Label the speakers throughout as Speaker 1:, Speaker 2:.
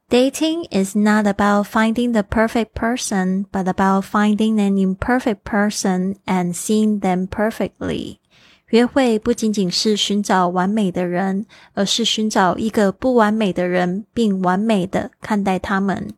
Speaker 1: Dating is not about finding the perfect person, but about finding an imperfect person and seeing them perfectly. 约会不仅仅是寻找完美的人，而是寻找一个不完美的人，并完美的看待他们。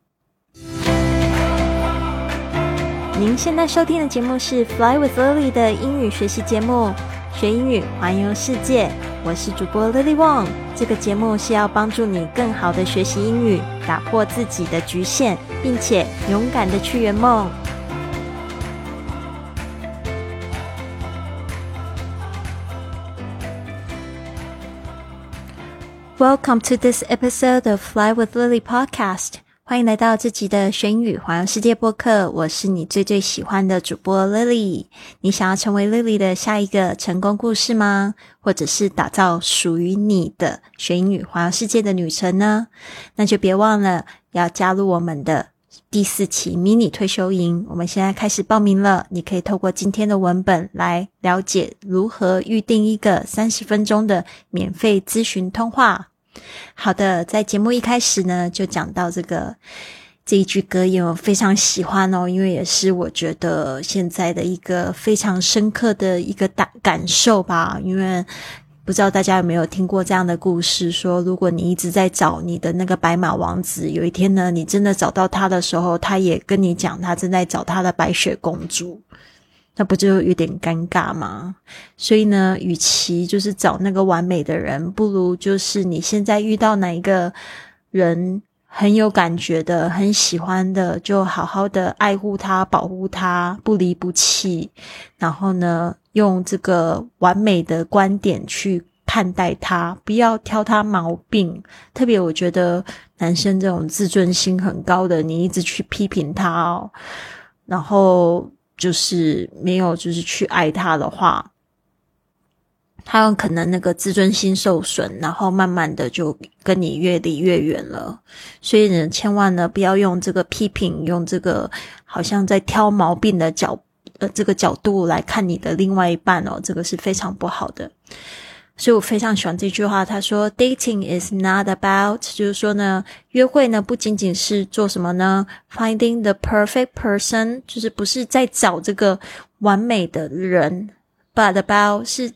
Speaker 1: 您现在收听的节目是 Fly with Lily 的英语学习节目，学英语环游世界。我是主播 Lily Wong， 这个节目是要帮助你更好的学习英语，打破自己的局限，并且勇敢的去圆梦。Welcome to this episode of Fly with Lily podcast. 欢迎来到这集的学英语环游世界播客，我是你最喜欢的主播 Lily。你想要成为 Lily 的下一个成功故事吗？或者是打造属于你的学英语环游世界的旅程呢？那就别忘了要加入我们的第4期迷你退休营，我们现在开始报名了。你可以透过今天的文本来了解如何预定一个30分钟的免费咨询通话。好的，在节目一开始呢，就讲到这一句格言，我非常喜欢哦，因为也是我觉得现在的一个非常深刻的一个感受吧。因为不知道大家有没有听过这样的故事，说如果你一直在找你的那个白马王子，有一天呢，你真的找到他的时候，他也跟你讲他正在找他的白雪公主，那不就有点尴尬吗？所以呢，与其就是找那个完美的人，不如就是你现在遇到哪一个人很有感觉的，很喜欢的，就好好的爱护他，保护他，不离不弃，然后呢，用这个完美的观点去看待他，不要挑他毛病。特别我觉得男生这种自尊心很高的，你一直去批评他哦，然后就是没有就是去爱他的话，他有可能那个自尊心受损，然后慢慢的就跟你越离越远了。所以呢，千万呢不要用这个批评，用这个好像在挑毛病的这个角度来看你的另外一半哦，这个是非常不好的。所以我非常喜欢这句话，他说 Dating is not about， 就是说呢，约会呢不仅仅是做什么呢 Finding the perfect person， 就是不是在找这个完美的人， but about 是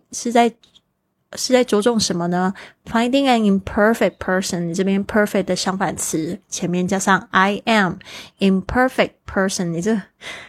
Speaker 1: 在着重什么呢 Finding an imperfect person， 你这边 perfect 的相反词前面加上 I am imperfect person， 你这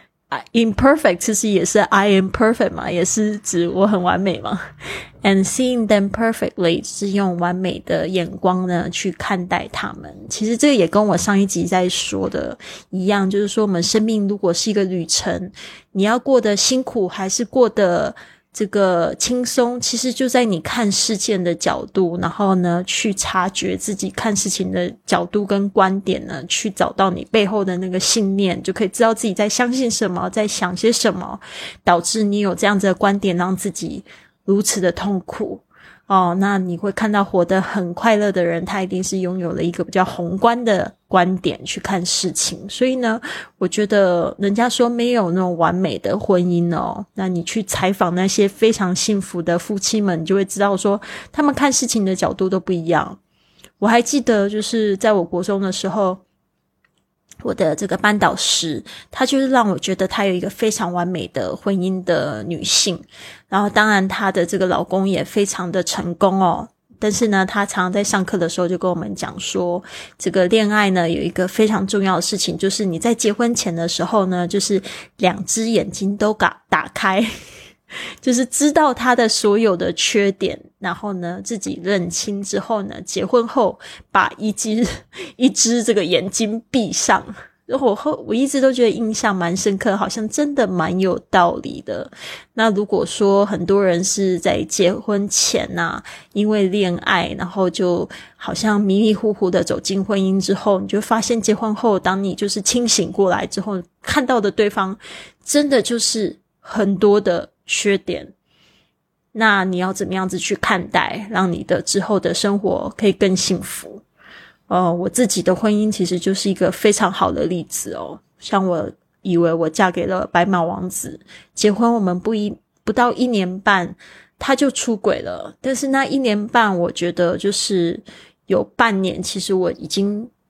Speaker 1: imperfect 其实也是 I am perfect 嘛，也是指我很完美嘛。And seeing them perfectly 是用完美的眼光呢去看待他们。其实这个也跟我上一集在说的一样，就是说我们生命如果是一个旅程，你要过得辛苦还是过得这个轻松，其实就在你看事件的角度，然后呢去察觉自己看事情的角度跟观点呢，去找到你背后的那个信念，就可以知道自己在相信什么，在想些什么，导致你有这样子的观点让自己如此的痛苦哦。那你会看到活得很快乐的人，他一定是拥有了一个比较宏观的观点去看事情。所以呢，我觉得人家说没有那种完美的婚姻哦，那你去采访那些非常幸福的夫妻们，你就会知道说他们看事情的角度都不一样。我还记得就是在我国中的时候，我的这个班导师，她就是让我觉得她有一个非常完美的婚姻的女性，然后当然她的这个老公也非常的成功哦。但是呢，她常常在上课的时候就跟我们讲说，这个恋爱呢有一个非常重要的事情，就是你在结婚前的时候呢，就是2只眼睛都打开，就是知道他的所有的缺点，然后呢自己认清之后呢，结婚后把一只这个眼睛闭上。我一直都觉得印象蛮深刻，好像真的蛮有道理的。那如果说很多人是在结婚前啊，因为恋爱，然后就好像迷迷糊糊的走进婚姻之后，你就发现结婚后，当你就是清醒过来之后，看到的对方真的就是很多的缺点。那你要怎么样子去看待，让你的之后的生活可以更幸福？我自己的婚姻其实就是一个非常好的例子哦。像我以为我嫁给了白马王子，结婚我们不到1年半他就出轨了。但是那1年半我觉得就是有半年其实我已经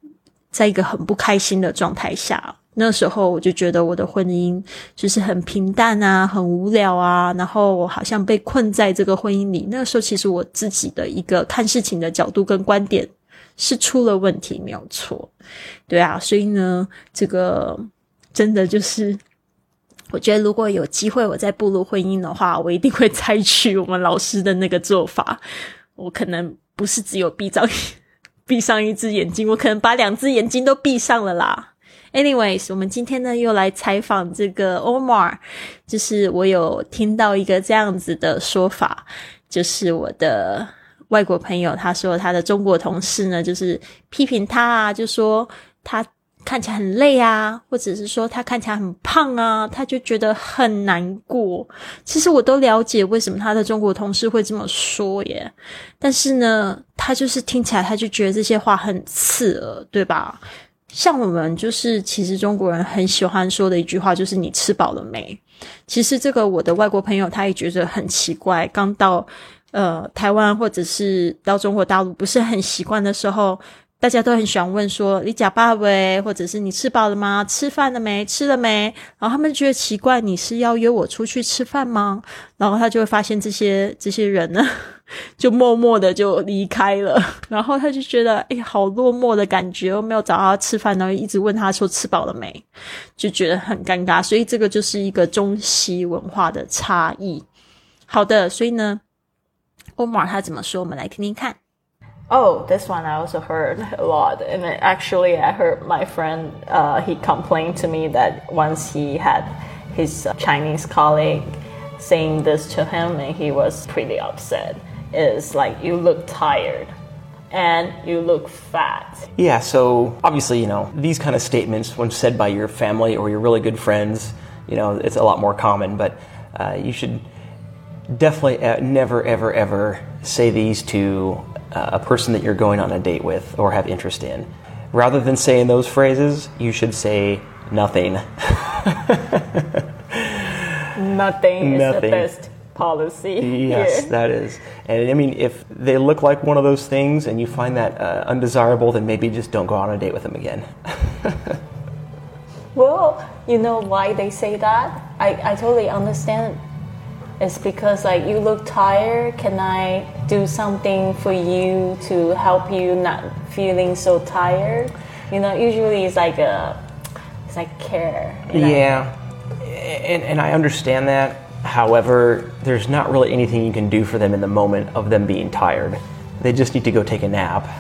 Speaker 1: 在一个很不开心的状态下。那时候我就觉得我的婚姻就是很平淡啊，很无聊啊，然后我好像被困在这个婚姻里。那时候其实我自己的一个看事情的角度跟观点是出了问题，没有错。对啊，所以呢，这个真的就是我觉得如果有机会我再步入婚姻的话，我一定会采取我们老师的那个做法。我可能不是只有闭上一只眼睛，我可能把2只眼睛都闭上了啦。Anyways， 我们今天呢又来采访这个 Omar， 就是我有听到一个这样子的说法，就是我的外国朋友他说他的中国同事呢就是批评他啊，就说他看起来很累啊，或者是说他看起来很胖啊，他就觉得很难过。其实我都了解为什么他的中国同事会这么说耶，但是呢他就是听起来他就觉得这些话很刺耳，对吧？像我们就是其实中国人很喜欢说的一句话就是你吃饱了没。其实这个我的外国朋友他也觉得很奇怪，刚到台湾或者是到中国大陆不是很习惯的时候，大家都很喜欢问说你吃饱没，或者是你吃饱了吗，吃饭了没，吃了没，然后他们觉得奇怪，你是要约我出去吃饭吗？然后他就会发现这些人呢就默默的就离开了，然后他就觉得好落寞的感觉，我没有找他吃饭，然后一直问他说吃饱了没，就觉得很尴尬。所以这个就是一个中西文化的差异。好的，所以呢 Omar 他怎么说，我们来听听看。
Speaker 2: Oh, this one I also heard a lot. And actually, I heard my friend, he complained to me that once he had his Chinese colleague saying this to him, and he was pretty upset. Is like, you look tired and you look fat.
Speaker 3: Yeah, so obviously, these kind of statements, when said by your family or your really good friends, it's a lot more common, but you should definitely never, ever, ever say these to a person that you're going on a date with or have interest in. Rather than saying those phrases, you should say nothing.
Speaker 2: Nothing is the best policy.
Speaker 3: Yes,
Speaker 2: here.
Speaker 3: That is. And I mean, if they look like one of those things and you find that undesirable, then maybe just don't go on a date with them again.
Speaker 2: Well, you know why they say that? I totally understand. It's because you look tired. Can I do something for you to help you not feeling so tired? Usually it's like care.
Speaker 3: Yeah, and I understand that. However, there's not really anything you can do for them in the moment of them being tired. They just need to go take a nap.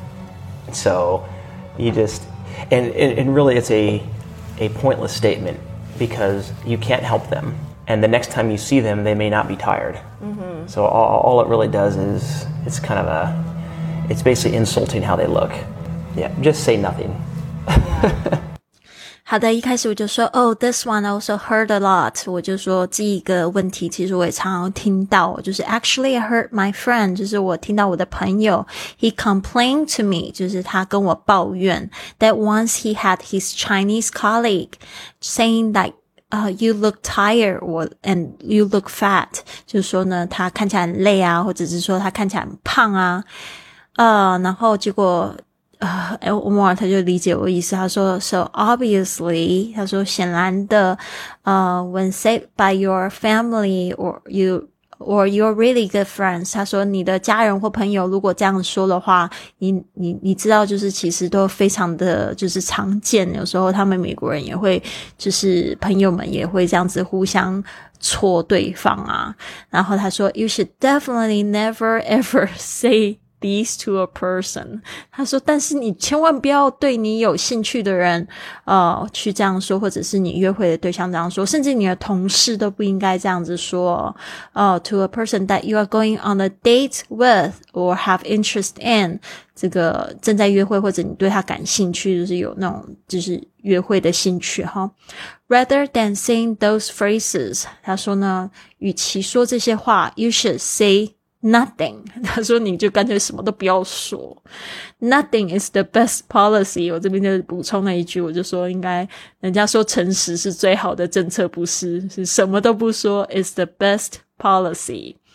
Speaker 3: So you just and really it's a pointless statement because you can't help them. And the next time you see them, they may not be tired. Mm-hmm. So all it really does is it's basically insulting how they look. Yeah, just say nothing.
Speaker 2: Yeah.
Speaker 1: 好的，一开始我就说this one I also heard a lot， 我就说这一个问题其实我也常常听到，就是 actually I heard my friend， 就是我听到我的朋友 he complained to me， 就是他跟我抱怨 that once he had his Chinese colleague saying that you look tired and you look fat， 就是说呢他看起来很累啊，或者是说他看起来很胖啊，然后结果Omar 他就理解我意思，他说 so obviously 他说显然的when said by your family or your really good friends， 他说你的家人或朋友如果这样说的话，你知道就是其实都非常的就是常见，有时候他们美国人也会就是朋友们也会这样子互相戳对方啊，然后他说 you should definitely never ever say these to a person， 他说但是你千万不要对你有兴趣的人去这样说，或者是你约会的对象这样说，甚至你的同事都不应该这样子说to a person that you are going on a date with or have interest in， 这个正在约会或者你对他感兴趣，就是有那种就是约会的兴趣哈。Rather than saying those phrases， 他说呢与其说这些话 you should say nothing， 他说你就干脆什么都不要说。 Nothing is the best policy， 我这边就补充了一句，我就说应该人家说诚实是最好的政策，不是什么都不说 is the best policy。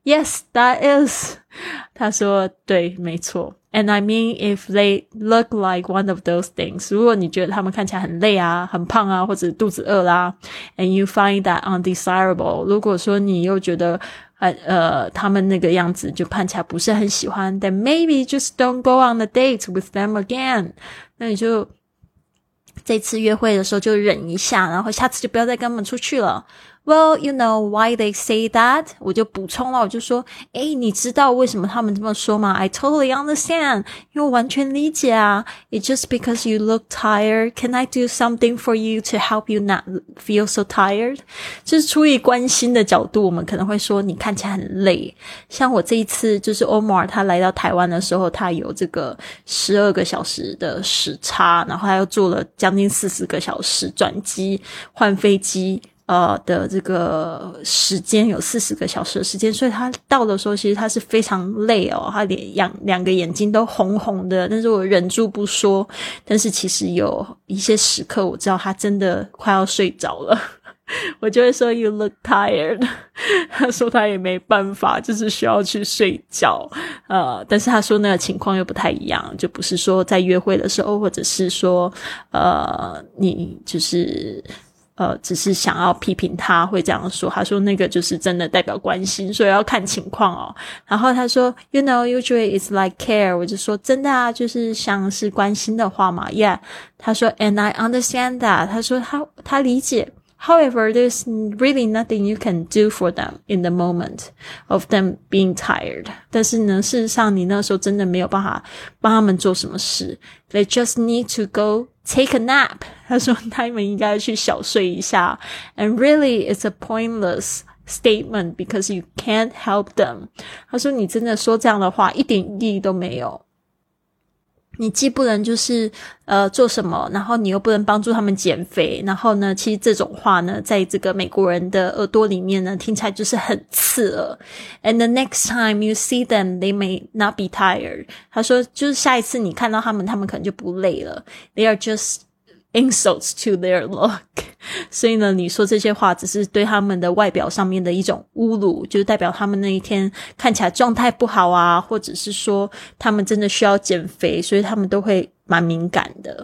Speaker 1: Yes, that is. 他说对，没错。And I mean, if they look like one of those things, 如果你觉得他们看起来很累啊，很胖啊，或者肚子饿啦 and you find that undesirable, 如果说你又觉得他们那个样子就看起来不是很喜欢 then maybe just don't go on a date with them again. 那你就这次约会的时候就忍一下，然后下次就不要再跟他们出去了。Well, you know why they say that? 我就补充了，我就说，你知道为什么他们这么说吗？ I totally understand. 因为我完全理解啊。It's just because you look tired. Can I do something for you to help you not feel so tired? 就是出于关心的角度，我们可能会说你看起来很累。像我这一次就是 Omar 他来到台湾的时候，他有这个12个小时的时差，然后他又坐了将近40个小时转机换飞机。的这个时间有40个小时的时间，所以他到的时候其实他是非常累哦，他两个眼睛都红红的，但是我忍住不说，但是其实有一些时刻我知道他真的快要睡着了。我就会说 You look tired. 他说他也没办法，就是需要去睡觉。但是他说那个情况又不太一样，就不是说在约会的时候，或者是说你就是只是想要批评他会这样说。他说那个就是真的代表关心，所以要看情况哦。然后他说 You know, usually it's like care. 我就说真的啊，就是像是关心的话嘛。Yeah. 他说 And I understand that. 他说他理解。However, there's really nothing you can do for them in the moment of them being tired. 但是呢，事实上你那时候真的没有办法帮他们做什么事。They just need to go take a nap. 他说他们应该去小睡一下。And really, it's a pointless statement because you can't help them. 他说你真的说这样的话一点意义都没有。你既不能就是做什么，然后你又不能帮助他们减肥，然后呢其实这种话呢在这个美国人的耳朵里面呢听起来就是很刺耳。And the next time you see them, they may not be tired. 他说就是下一次你看到他们可能就不累了。They are just insults to their look. 所以呢你说这些话只是对他们的外表上面的一种侮辱，就是代表他们那一天看起来状态不好啊，或者是说他们真的需要减肥，所以他们都会蛮敏感的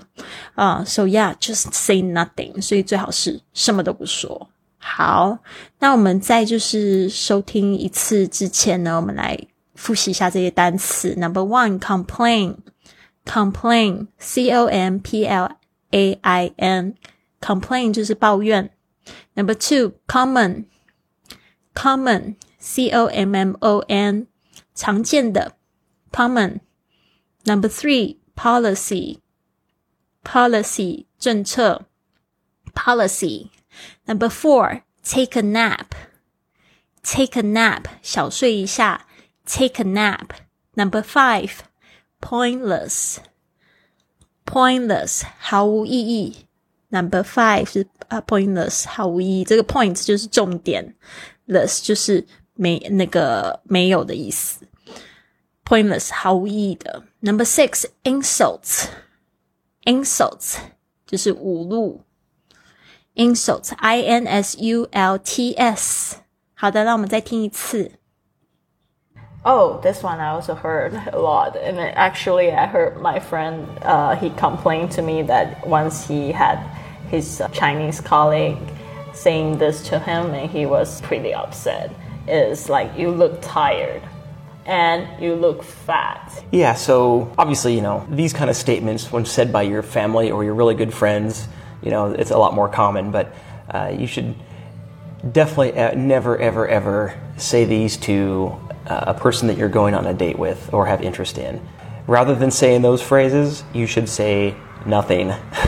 Speaker 1: So yeah, just say nothing. 所以最好是什么都不说。好，那我们在就是收听一次之前呢，我们来复习一下这些单词。Number one, complain. Complain, C-O-M-P-L-A-I-N. Complain 就是抱怨。Number two, common. Common, C-O-M-M-O-N. 常见的 common. Number three, policy. Policy, 政策 policy. Number four, take a nap. Take a nap, 小睡一下 take a nap. Number five, pointless. Pointless, 毫无意义。Number five 是pointless, 毫无意义。这个 point 就是重点 less 就是没有的意思。Pointless, 毫无意义的。Number six, insults. Insults 就是侮辱。Insults, I-N-S-U-L-T-S. 好的，那我们再听一次。
Speaker 2: Oh, this one I also heard a lot. And actually, I heard my friend, he complained to me that once he had his Chinese colleague saying this to him, and he was pretty upset. Is like, you look tired and you look fat.
Speaker 3: Yeah, so obviously, these kind of statements, when said by your family or your really good friends, it's a lot more common, but you should definitely never, ever, ever say these to a person that you're going on a date with or have interest in. Rather than saying those phrases, you should say nothing.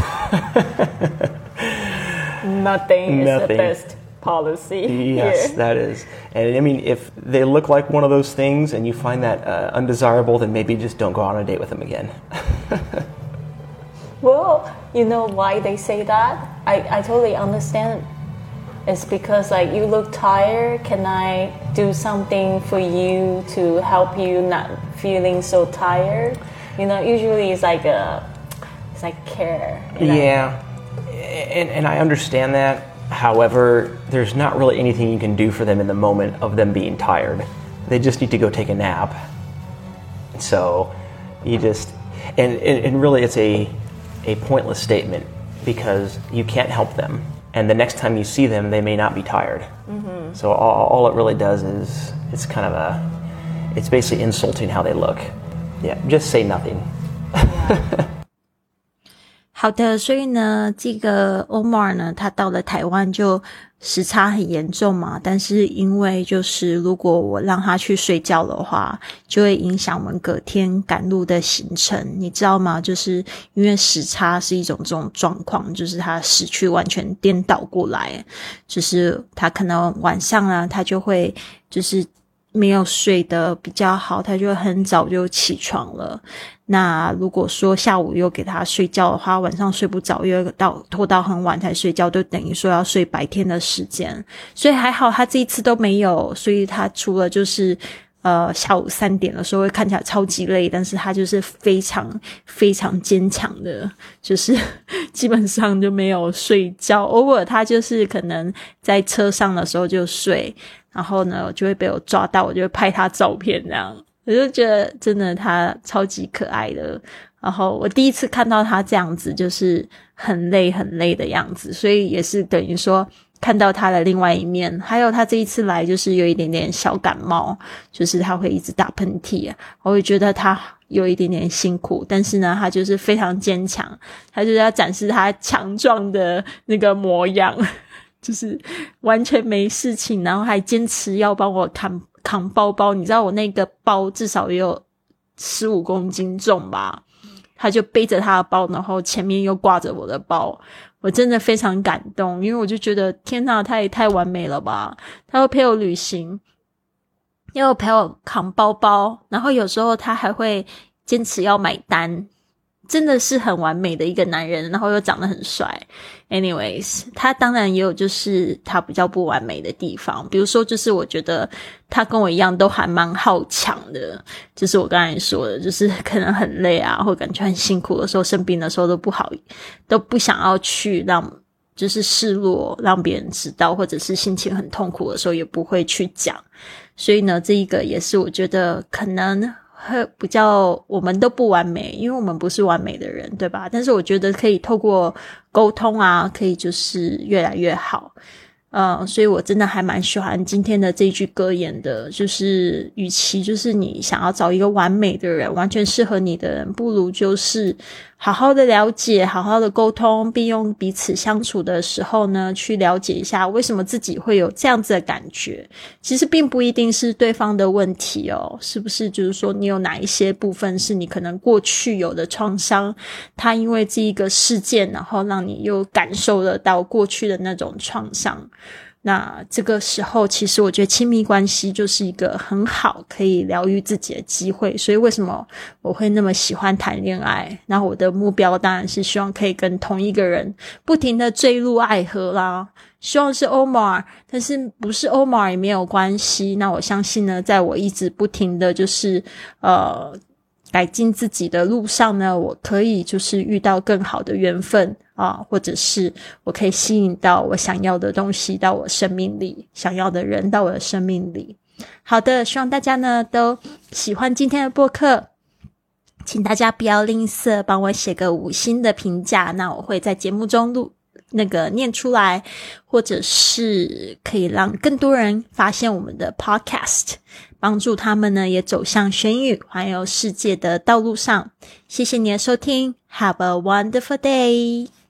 Speaker 2: Nothing is the best policy.
Speaker 3: Yes,
Speaker 2: here.
Speaker 3: That is. And I mean, if they look like one of those things and you find that undesirable, then maybe just don't go on a date with them again.
Speaker 2: Well, you know why they say that? I totally understand. It's because you look tired. Can I do something for you to help you not feeling so tired? Usually it's like care.
Speaker 3: Yeah, and I understand that. However, there's not really anything you can do for them in the moment of them being tired. They just need to go take a nap. So you just, and really it's a pointless statement because you can't help them. And the next time you see them, they may not be tired. Mm-hmm. So all it really does is it's kind of it's basically insulting how they look. Yeah, just say nothing.
Speaker 1: 好的，所以呢，这个 Omar 呢，他到了台湾就时差很严重嘛，但是因为就是如果我让他去睡觉的话，就会影响我们隔天赶路的行程，你知道吗？就是因为时差是一种这种状况，就是他时区完全颠倒过来，就是他可能晚上啊，他就会就是没有睡得比较好，他就很早就起床了。那如果说下午又给他睡觉的话，晚上睡不着，又拖到很晚才睡觉，就等于说要睡白天的时间。所以还好他这一次都没有，所以他除了就是下午3点的时候会看起来超级累，但是他就是非常非常坚强的，就是基本上就没有睡觉，偶尔他就是可能在车上的时候就睡，然后呢就会被我抓到，我就会拍他照片这样，我就觉得真的他超级可爱的。然后我第一次看到他这样子就是很累很累的样子，所以也是等于说看到他的另外一面。还有他这一次来就是有一点点小感冒，就是他会一直打喷嚏，我会觉得他有一点点辛苦，但是呢他就是非常坚强，他就是要展示他强壮的那个模样，就是完全没事情，然后还坚持要帮我扛包包。你知道我那个包至少也有15公斤重吧，他就背着他的包，然后前面又挂着我的包，我真的非常感动，因为我就觉得天哪，他也太完美了吧，他会陪我旅行，又陪我扛包包，然后有时候他还会坚持要买单，真的是很完美的一个男人，然后又长得很帅。Anyways， 他当然也有就是他比较不完美的地方，比如说就是我觉得他跟我一样都还蛮好强的，就是我刚才说的，就是可能很累啊，或感觉很辛苦的时候，生病的时候都不想要去让就是示弱让别人知道，或者是心情很痛苦的时候也不会去讲。所以呢，这一个也是我觉得可能比较我们都不完美，因为我们不是完美的人，对吧？但是我觉得可以透过沟通啊，可以就是越来越好。所以我真的还蛮喜欢今天的这一句格言的，就是与其就是你想要找一个完美的人，完全适合你的人，不如就是好好的了解，好好的沟通，并用彼此相处的时候呢，去了解一下为什么自己会有这样子的感觉。其实并不一定是对方的问题哦，是不是就是说你有哪一些部分是你可能过去有的创伤，它因为这一个事件，然后让你又感受得到过去的那种创伤。那这个时候其实我觉得亲密关系就是一个很好可以疗愈自己的机会，所以为什么我会那么喜欢谈恋爱，然后我的目标当然是希望可以跟同一个人不停的坠入爱河啦，希望是 Omar， 但是不是 Omar 也没有关系。那我相信呢，在我一直不停的就是改进自己的路上呢，我可以就是遇到更好的缘分啊，或者是我可以吸引到我想要的东西到我生命里，想要的人到我的生命里。好的，希望大家呢都喜欢今天的播客，请大家不要吝啬帮我写个5星的评价，那我会在节目中念出来，或者是可以让更多人发现我们的 podcast， 帮助他们呢也走向学英语环游世界的道路上。谢谢你的收听， Have a wonderful day。